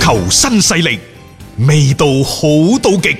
球新勢力，味道好到極。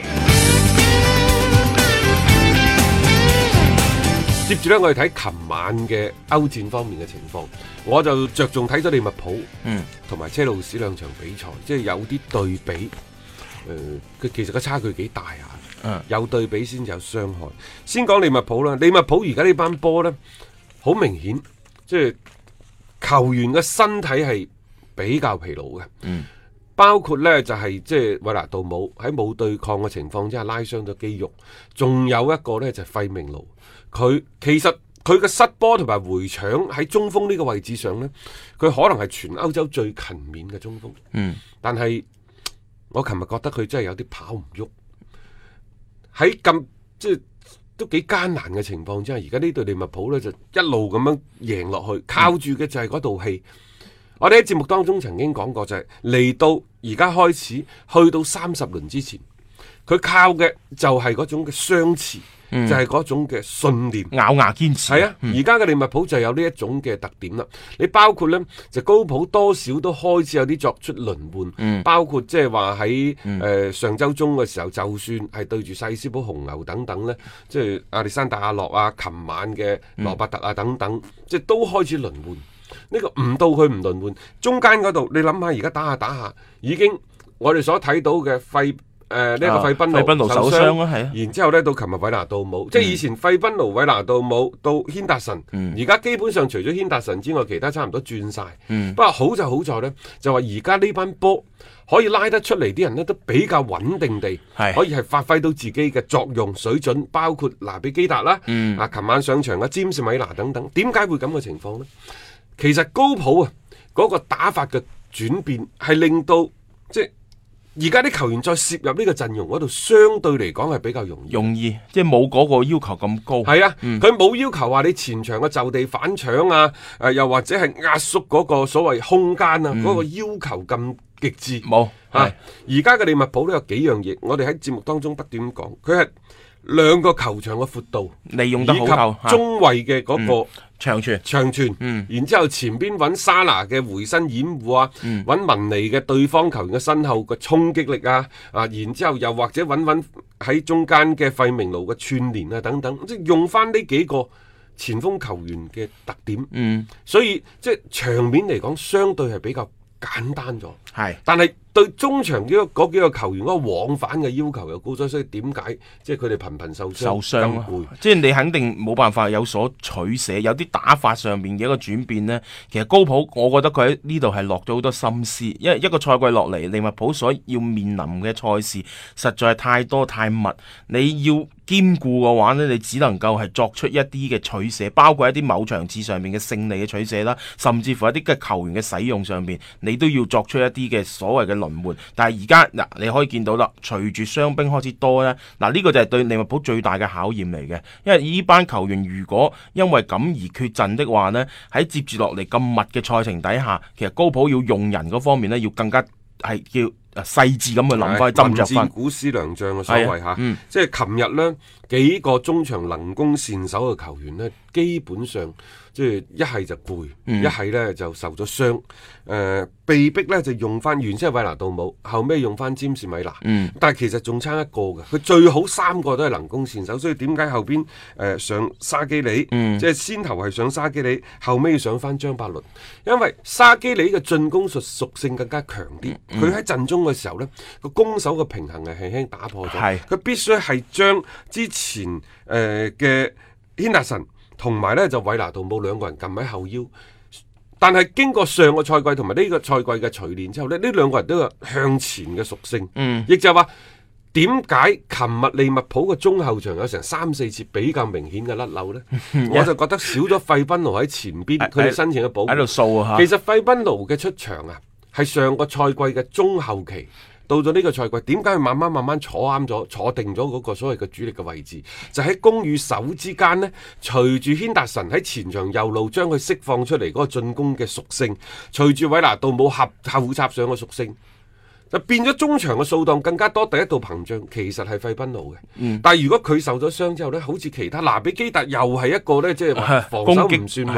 接住呢，我哋睇琴晚嘅歐戰方面嘅情況，我就着重睇咗利物浦同埋車路士兩場比賽，即係有啲對比。其實個差距幾大啊！有對比先有傷害。先講利物浦啦，利物浦而家呢班波呢，好明顯，即係球員嘅身體係比較疲勞嘅。包括呢就係即係韋拿杜姆喺冇對抗嘅情況之下拉傷咗肌肉，仲有一個呢就係費明奴，佢其實佢嘅失波同埋回搶喺中鋒呢個位置上呢，佢可能係全歐洲最勤勉嘅中鋒。但係我琴日覺得佢真係有啲跑唔喐，喺咁即係都幾艱難嘅情況之下，而家呢隊利物浦呢就一路咁樣贏落去，靠住嘅就係嗰道氣。我哋喺節目當中曾經講過，就係嚟到而家開始去到30輪之前，佢靠嘅就係嗰種嘅相持，就係嗰種嘅信念， 咬牙堅持。 係啊，而家嘅利物浦就有呢一種嘅特點啦。你包括呢，就高普多少都開始有啲作出輪換，包括即係話喺上週中嘅時候，就算係對住細斯堡紅牛等等呢，即係亞歷山大阿諾啊，琴晚嘅羅伯特啊等等，即係都開始輪換。呢個唔到佢唔輪換，中間嗰度你諗下，而家打下，已經我哋所睇到嘅呢個費賓奴受傷啊，然之後呢到琴日韋拿杜姆，即係以前費賓奴、韋拿杜姆到軒達臣，而家基本上除咗軒達臣之外，其他差唔多轉晒。不過好就好在呢，就話而家呢班波可以拉得出嚟啲人呢，都比較穩定地，可以係發揮到自己嘅作用水準，包括拿比基達啦，琴晚上場嘅詹士米拿等等。點解會咁嘅情況呢？其實高普啊嗰個打法嘅轉變係令到即係而家啲球員再攝入呢個陣容嗰度，相對嚟講係比較容易， 即係冇嗰個要求咁高。 係啊，佢冇要求話你前場嘅就地反搶啊，又或者係壓縮嗰個所謂空間啊，嗰個要求咁極致。 冇而家嘅利物浦都有幾樣嘢，我哋喺節目當中不斷講，佢係兩個球場嘅闊度利用得好夠， 以及中衛嘅嗰個長傳， 然之後前邊揾沙拿嘅回身掩護啊，揾文尼嘅對方球員嘅身後嘅衝擊力啊，然之後又或者揾喺中間嘅費明奴嘅串聯啊等等，即係用翻呢幾個前鋒球員嘅特點，所以即係場面嚟講相對係比較簡單咗，但係對中場嗰幾個球員嗰個往返嘅要求又高咗，所以點解即係佢哋頻頻受傷即係你肯定冇辦法有所取捨，有啲打法上面嘅一個轉變呢。其實高普我覺得佢喺呢度係落咗好多心思，因為一個賽季落嚟，利物浦所要面臨嘅賽事實在係太多太密，你要兼顧嘅話呢，你只能夠係作出一啲嘅取捨，包括一啲某場次上面嘅勝利嘅取捨啦，甚至乎一啲嘅球員嘅使用上面，你都要作出一啲嘅所謂嘅輪換。但係而家嗱，你可以見到啦，隨住傷兵開始多咧，呢個就係對利物浦最大嘅考驗嚟嘅。因為呢班球員如果因為咁而缺陣的話呢，喺接住落嚟咁密嘅賽程底下，其實高普要用人嗰方面呢，要更加係叫細緻咁去諗翻斟酌翻。 古師良將嘅所謂嚇，即係琴日呢幾個中場能攻善守嘅球員呢，基本上即係一係就攰，一係呢就受咗傷，被逼呢就用翻原先係韋拿杜姆，後尾用翻詹士米拿，但係其實仲差一個嘅，佢最好三個都係能攻善守，所以點解後邊上沙基里，即係先頭係上沙基里，後尾上翻張伯倫，因為沙基里嘅進攻屬性更加強啲，佢喺陣中嘅時候呢，個攻守嘅平衡係輕輕打破咗，佢必須係將之前嘅軒達臣同埋呢就韋拿杜姆兩個人撳喺後腰。但係經過上個賽季同埋呢個賽季嘅錘煉之後呢，呢兩個人都有向前嘅屬性，亦就係話點解琴日利物浦嘅中後場有成3-4次比較明顯嘅甩漏呢？我就覺得少咗費賓奴喺前邊，佢哋申請嘅保護喺度掃啊！ 其實費賓奴嘅出場啊，係上個賽季嘅中後期。到咗呢個賽季，點解佢慢慢坐啱咗、坐定咗嗰個所謂嘅主力嘅位置？就喺攻與守之間呢，隨住軒達臣喺前場右路將佢釋放出嚟嗰個進攻嘅屬性，隨住韋拿杜姆後插上嘅屬性，就變咗中場嘅數量更加多。第一道屏障其實係費賓奴嘅，但係如果佢受咗傷之後呢，好似其他拿比基達又係一個呢，即係話防守唔算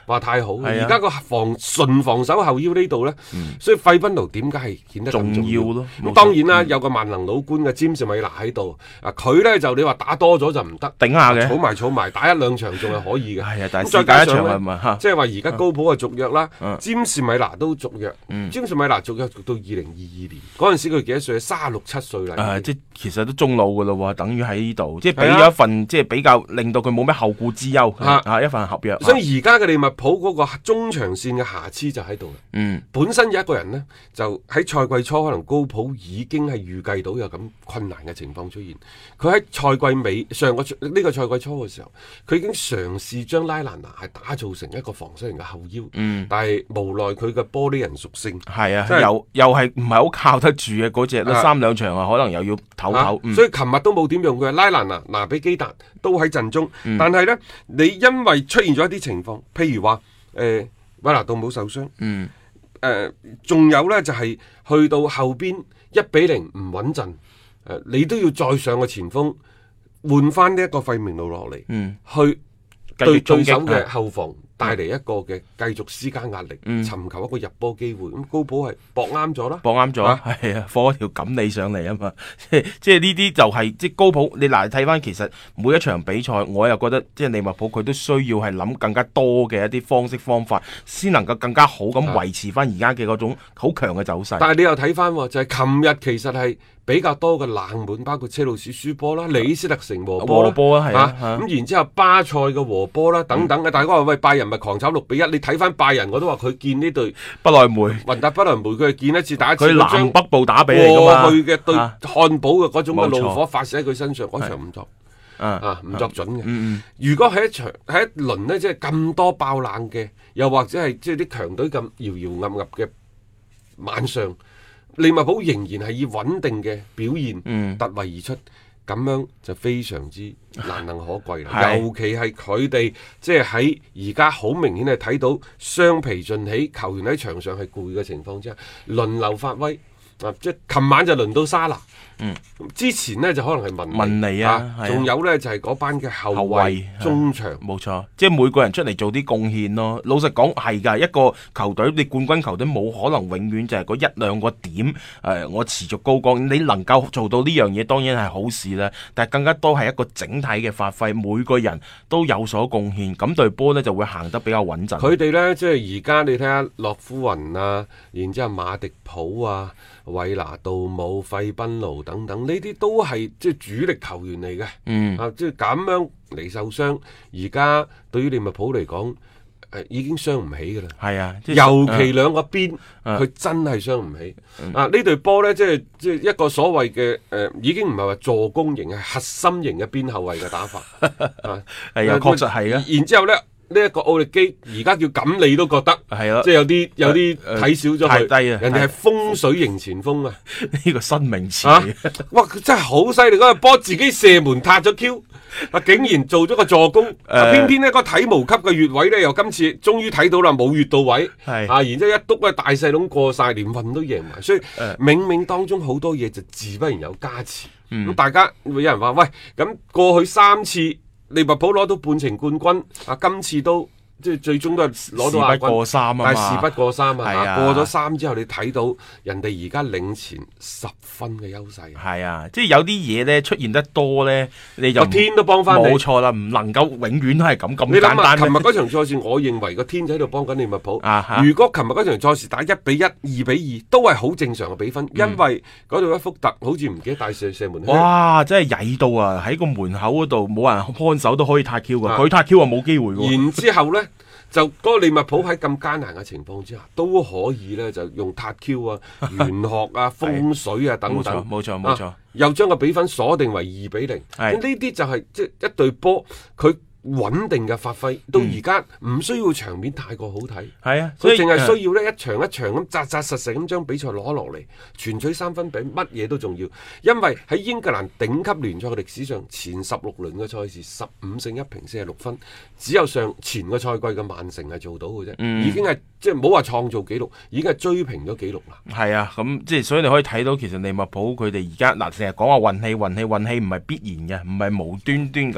話太好。而家個純防守後腰呢度呢，所以費賓奴點解係顯得咁重要咯？ 咁當然啦，有個萬能老官嘅詹士米拿喺度，佢呢就你話打多咗就唔得， 頂下嘅， 儲埋打一兩場仲係可以嘅。 係啊，但係再加上呢， 即係話而家高普嘅續約啦，詹士米拿都續約，詹士米拿續約續到2022年嗰陣時佢幾多歲？36、7歲啦。 即係其實都中老噶咯，等於喺呢度，即係俾咗一份即係比較令到佢冇咩後顧之憂一份合約。 所以而家嘅利物浦嗰個中長線嘅瑕疵就喺度啦。本身有一個人呢，就喺賽季初可能高普已經係預計到有咁困難嘅情況出現。佢喺賽季尾呢個賽季初嘅時候，佢已經嘗試將拉蘭拿係打造成一個防守型嘅後腰。但係無奈佢嘅玻璃人屬性係啊，又係唔係好靠得住嘅嗰隻，3-2場可能又要唞。 所以琴日都冇點用佢，拉蘭拿、拿比基達都喺陣中。但係呢，你因為出現咗一啲情況，譬如話韋拿杜姆受傷，仲有呢，就係去到後邊1-0唔穩陣，你都要再上個前鋒換翻呢一個費明路落嚟，去對對手嘅後防帶嚟一個嘅繼續施加壓力，尋求一個入波機會。咁高普係搏啱咗啦， 搏啱咗，係啊，放一條錦鯉上嚟啊嘛。即係呢啲就係即係高普。你嗱睇翻，其實每一場比賽，我又覺得即係利物浦佢都需要係諗更加多嘅一啲方式方法，先能夠更加好咁維持翻而家嘅嗰種好強嘅走勢。 但係你又睇翻，就係琴日其實係比較多嘅冷門，包括車路士輸波啦、李斯特城和波啦，咁然之後巴塞嘅和波啦等等嘅。大家話喂，拜仁咪狂炒6-1，你睇翻拜仁，我都話佢見呢隊不萊梅雲達不萊梅，佢係見一次打一次。 佢南北部打比嚟㗎嘛， 過去嘅對漢堡嘅嗰種嘅怒火發射喺佢身上，嗰場唔作唔作準嘅。如果喺一輪呢，即係咁多爆冷嘅，又或者係即係啲強隊咁搖搖噏噏嘅晚上，利物浦仍然係以穩定嘅表現突圍而出，咁樣就非常之難能可貴啦。尤其係佢哋即係喺而家好明顯係睇到雙疲盡起，球員喺場上係攰嘅情況之下，輪流發威。即係琴晚就輪到沙拿，之前呢就可能係文尼仲有呢就係嗰班嘅後衛中場， 冇錯，即係每個人出嚟做啲貢獻咯。老實講係㗎，一個球隊你冠軍球隊冇可能永遠就係嗰1-2個點我持續高光。你能夠做到呢樣嘢當然係好事啦，但係更加多係一個整體嘅發揮，每個人都有所貢獻，咁隊波呢就會行得比較穩陣。 佢哋呢，即係而家你睇下洛夫雲啊，然之後馬迪普啊、韋拿杜姆、費賓奴等等，呢啲都係即係主力球員嚟嘅。即係咁樣嚟受傷，而家對於利物浦嚟講，已經傷唔起噶啦。係啊，尤其兩個邊，佢真係傷唔起。呢隊波呢，即係一個所謂嘅已經唔係話助攻型，係核心型嘅邊後衛嘅打法。 係啊，確實係啊。 然之後呢。呢一個奧力基而家叫咁，你都覺得係咯，即係有啲睇少咗佢，低啊！人哋係風水型前鋒啊， 呢個新名詞。 哇！佢真係好犀利，嗰個波自己射門撻咗 Q，竟然做咗個助攻。偏偏呢個體毛級嘅越位咧，又今次終於睇到啦，冇越到位。然之後一篤咧，大細籠過晒，連運都贏埋。所以冥冥當中好多嘢就自不然有加持。咁大家會有人話喂，咁過去3次。利物浦攞到半程冠軍，今次都即係最終都係攞到亞軍， 事不過三啊嘛， 但係事不過三啊，過咗3之後，你睇到人哋而家領前10分嘅優勢。 係啊，即係有啲嘢咧出現得多咧，你就個天都幫翻你。 冇錯啦，唔能夠永遠都係咁簡單。 你諗下，琴日嗰場賽事，我認為個天就喺度幫緊利物浦。如果琴日嗰場賽事打1-1、2-2，都係好正常嘅比分，因為嗰度一福特好似唔記得帶射門。 哇！真係曳到啊！喺個門口嗰度冇人看守都可以撻 Q 㗎，佢撻 Q 啊冇機會喎。 然之後咧。就嗰個利物浦喺咁艱難嘅情況之下，都可以咧就用撻 Q 啊、玄學啊、風水啊等等， 冇錯， 又將個比分鎖定為2-0。呢啲就係即係一隊波佢穩定嘅發揮，到而家唔需要場面太過好睇。係啊，所以淨係需要咧一場一場咁扎扎實實咁將比賽攞落嚟，全取3分比乜嘢都重要。因為喺英格蘭頂級聯賽嘅歷史上，前16輪嘅賽事15勝1平46分，只有前個賽季嘅曼城係做到嘅啫，已經係即係唔好話創造紀錄，已經係追平咗紀錄啦。係啊， 咁即係所以你可以睇到，其實利物浦佢哋而家成日講話運氣唔係必然嘅，唔係無端端咁去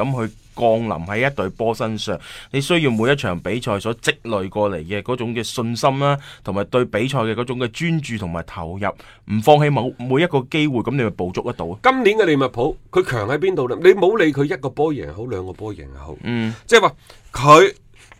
降臨喺一隊波身上，你需要每一場比賽所積累過嚟嘅嗰種嘅信心啦，同埋對比賽嘅嗰種嘅專注同埋投入，唔放棄每一個機會，咁你咪捕捉得到。 今年嘅利物浦佢強喺邊度呢？你冇理佢一個波贏好，兩個波贏好，即係話佢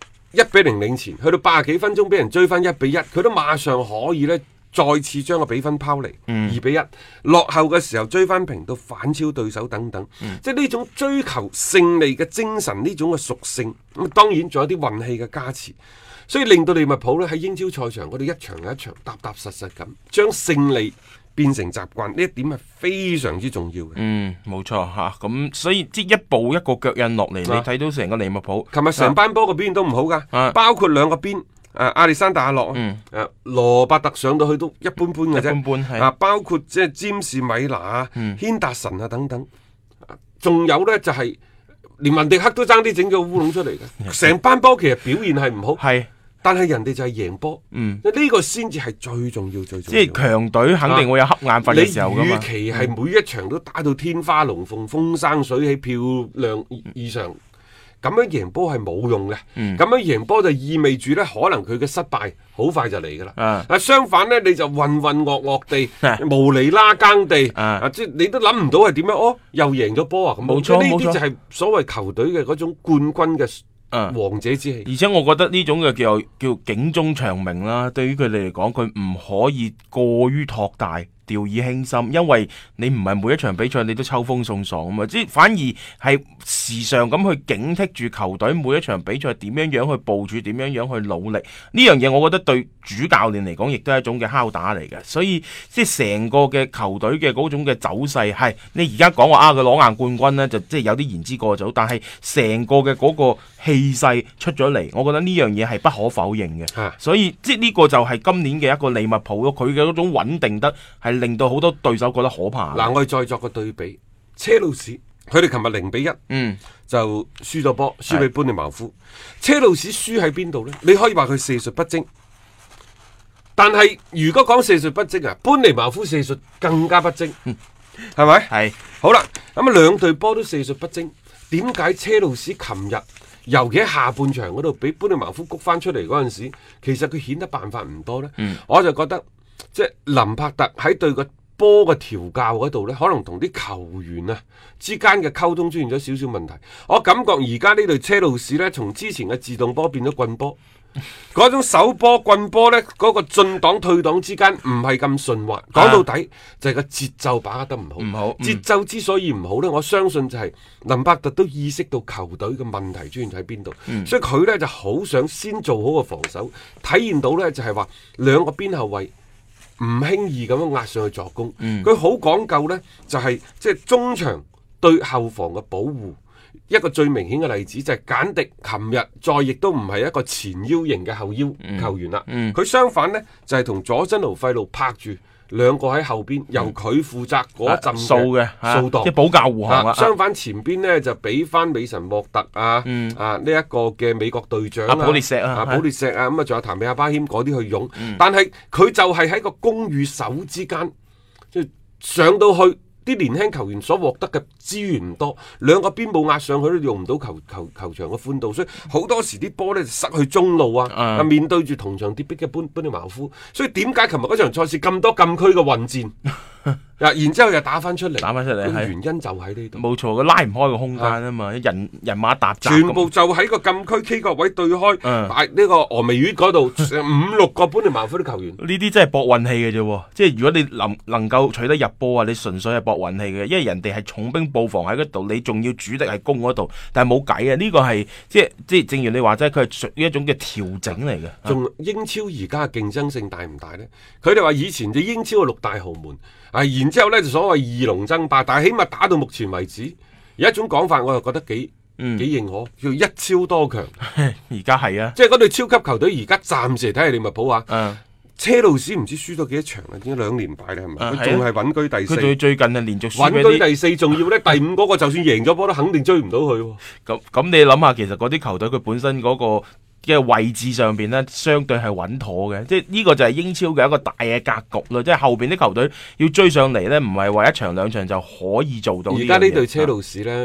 1-0領前，去到80幾分鐘俾人追翻1-1，佢都馬上可以呢再次將個比分拋離2-1，落後嘅時候追翻平到反超對手等等，即係呢種追求勝利嘅精神，呢種嘅屬性，咁當然仲有啲運氣嘅加持，所以令到利物浦呢喺英超賽場嗰度一場一場踏踏實實咁將勝利變成習慣，呢一點係非常之重要嘅。 冇錯吓，咁所以即一步一個腳印落嚟，你睇到成個利物浦， 琴日成班波嘅表現都唔好噶，包括兩個邊。亞歷山大阿諾，羅伯特上到去都一般般嘅啫，包括即係詹士米拿啊、軒達臣啊等等，仲有呢，就係連文迪克都爭啲整咗烏龍出嚟嘅，成班波其實表現係唔好，但係人哋就係贏波，呢個先至係最重要最重要。 即係強隊肯定會有瞌眼瞓嘅時候噶嘛。 你與其係每一場都打到天花龍鳳、風生水起、漂亮異常。咁樣贏波係冇用嘅，咁樣贏波就意味住呢，可能佢嘅失敗好快就嚟噶啦。相反呢，你就渾渾噩噩地、無厘拉更地，即係你都諗唔到係點樣，又贏咗波啊！咁冇錯，呢啲就係所謂球隊嘅嗰種冠軍嘅王者之氣。 而且我覺得呢種嘅叫警鐘長鳴啦，對於佢哋嚟講，佢唔可以過於托大。掉以輕心，因為你唔係每一場比賽你都秋風送爽啊嘛，即係反而係時常咁去警惕住球隊每一場比賽點樣樣去部署，點樣樣去努力。呢樣嘢我覺得對主教練嚟講亦都係一種嘅敲打嚟嘅，所以即係成個嘅球隊嘅嗰種嘅走勢係你而家講話佢攞硬冠軍呢，就即係有啲言之過早，但係成個嘅嗰個氣勢出咗嚟，我覺得呢樣嘢係不可否認嘅。所以即係呢個就係今年嘅一個利物浦咯，佢嘅嗰種穩定得係令到好多對手覺得可怕。 嗱，我哋再作個對比，車路士佢哋琴日0-1，就輸咗波，輸俾班尼茅夫。車路士輸喺邊度呢？你可以話佢射術不精，但係如果講射術不精啊，班尼茅夫射術更加不精，係咪？係。好啦，咁啊兩隊波都射術不精，點解車路士琴日尤其喺下半場嗰度俾班尼茅夫谷翻出嚟嗰陣時，其實佢顯得辦法唔多呢？我就覺得。即係林柏特喺對個波嘅調教嗰度呢，可能同啲球員啊之間嘅溝通出現咗少少問題。我感覺而家呢隊車路士呢，從之前嘅自動波變咗棍波，嗰種手波棍波呢，嗰個進檔退檔之間唔係咁順滑。講到底就係個節奏把握得唔好。節奏之所以唔好呢，我相信就係林柏特都意識到球隊嘅問題出現喺邊度，所以佢呢就好想先做好個防守，體現到呢就係話兩個邊後衛。唔輕易咁樣壓上去助攻，佢好講究呢，就係即係中場對後防嘅保護。一個最明顯嘅例子就係簡迪，琴日再亦都唔係一個前腰型嘅後腰球員啦，佢相反呢，就係同佐真奴費路拍住。兩個喺後邊，由佢負責嗰陣嘅掃檔， 即係保駕護航啦。 相反前邊呢，就俾翻美神莫特呢一個嘅美國隊長普列石啊， 普列石啊，咁啊仲有譚美亞巴謙嗰啲去用，但係佢就係喺個攻與守之間，即係上到去。啲年輕球員所獲得嘅資源唔多，兩個邊冇壓上去都用唔到球場嘅寬度，所以好多時啲波呢就失去中路啊！面對住同場跌逼嘅班尼茅夫，所以點解琴日嗰場賽事咁多禁區嘅混戰？然之後又打翻出嚟，原因就喺呢度。 冇錯，佢拉唔開個空間啊嘛，人馬搭雜， 全部就喺個禁區 K 角位對開，呢個峨眉月嗰度5-6個班尼茅夫啲球員。 呢啲真係搏運氣嘅啫，即係如果你能夠取得入波啊，你純粹係搏運氣嘅，因為人哋係重兵布防喺嗰度，你仲要主力係攻嗰度，但係冇計啊！呢個係即係正如你話齋，佢係屬於一種嘅調整嚟嘅。 仲英超而家嘅競爭性大唔大呢？佢哋話以前就英超嘅6大豪門。然之後呢就所謂二龍爭霸，但係起碼打到目前為止，有一種講法我又覺得幾認可，叫一超多強。 而家係啊， 即係嗰隊超級球隊而家暫時嚟睇係利物浦啊。車路士唔知輸咗幾多場啦，已經2連敗啦，係咪？佢仲係穩居第4。 佢最近係連續輸穩居第4，仲要呢第5嗰個就算贏咗波都肯定追唔到佢。 咁你諗下，其實嗰啲球隊佢本身嗰個嘅位置上邊呢，相對係穩妥嘅，即係呢個就係英超嘅一個大嘅格局咯。即係後邊啲球隊要追上嚟呢，唔係話1場2場就可以做到。 而家呢隊車路士呢，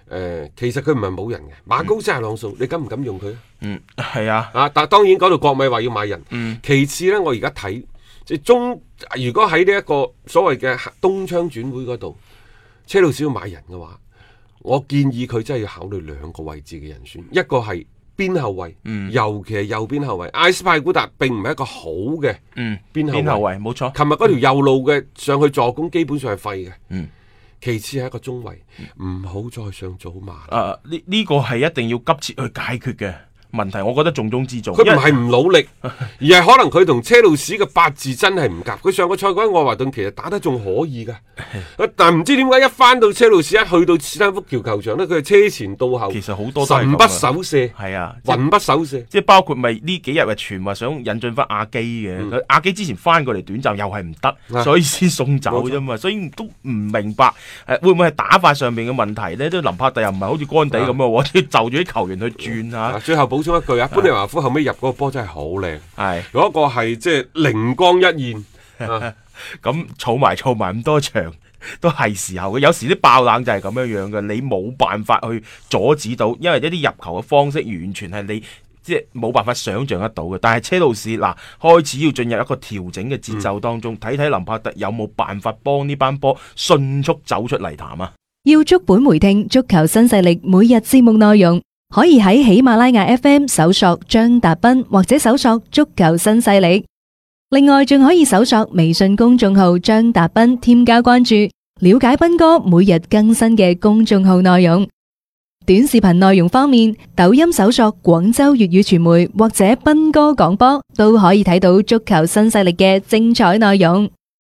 其實佢唔係冇人嘅，馬高斯阿朗素，你敢唔敢用佢？ 係啊。 但係當然嗰度國米話要買人。其次呢，我而家睇即係如果喺呢一個所謂嘅冬窗轉會嗰度，車路士要買人嘅話，我建議佢真係要考慮兩個位置嘅人選，一個係邊後衛，尤其係右邊後衛。艾斯派古達並唔係一個好嘅邊後衛， 冇錯。 琴日嗰條右路嘅上去助攻基本上係廢嘅。其次係一個中衛，唔好再上祖馬。 呢個係一定要急切去解決嘅問題，我覺得重中之重。 佢唔係唔努力，而係可能佢同車路士嘅八字真係唔夾。佢上個賽季喺愛華頓其實打得仲可以噶，但唔知點解一翻到車路士，一去到斯坦福橋球場呢，佢係車前到後， 其實好多神不守舍， 係啊， 魂不守舍。 即係包括咪呢幾日嘅傳話想引進翻阿基嘅，阿基之前翻過嚟短暫又係唔得，所以先送走啫嘛。所以都唔明白會唔會係打法上面嘅問題呢？都林柏特又唔係好似干地咁啊，要就住啲球員去轉下。 最後補充一句啊，般尼華夫後尾入嗰個波真係好靚，係嗰個係即係靈光一現。 咁儲埋咁多場都係時候嘅，有時啲爆冷就係咁樣樣嘅，你冇辦法去阻止到，因為一啲入球嘅方式完全係你即係冇辦法想象得到嘅。但係車路士嗱開始要進入一個調整嘅節奏當中，睇睇林柏特有冇辦法幫呢班波迅速走出泥潭啊！ 要足本回聽足球新勢力每日節目內容，可以喺喜馬拉雅 FM 搜索張達斌，或者搜索足球新勢力。另外仲可以搜索微信公眾號張達斌，添加關注，了解斌哥每日更新嘅公眾號內容。短視頻內容方面，抖音搜索廣州粵語傳媒或者斌哥廣播，都可以睇到足球新勢力嘅精彩內容。